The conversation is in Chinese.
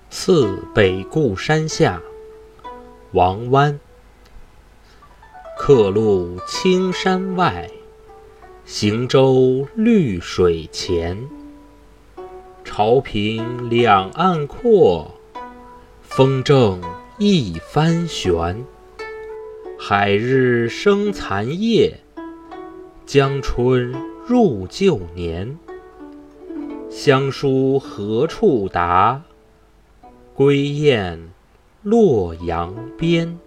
次北固山下，王湾。客路青山外，行舟绿水前。潮平两岸阔，风正一帆悬。海日生残夜，江春入旧年。乡书何处达？归雁洛阳边。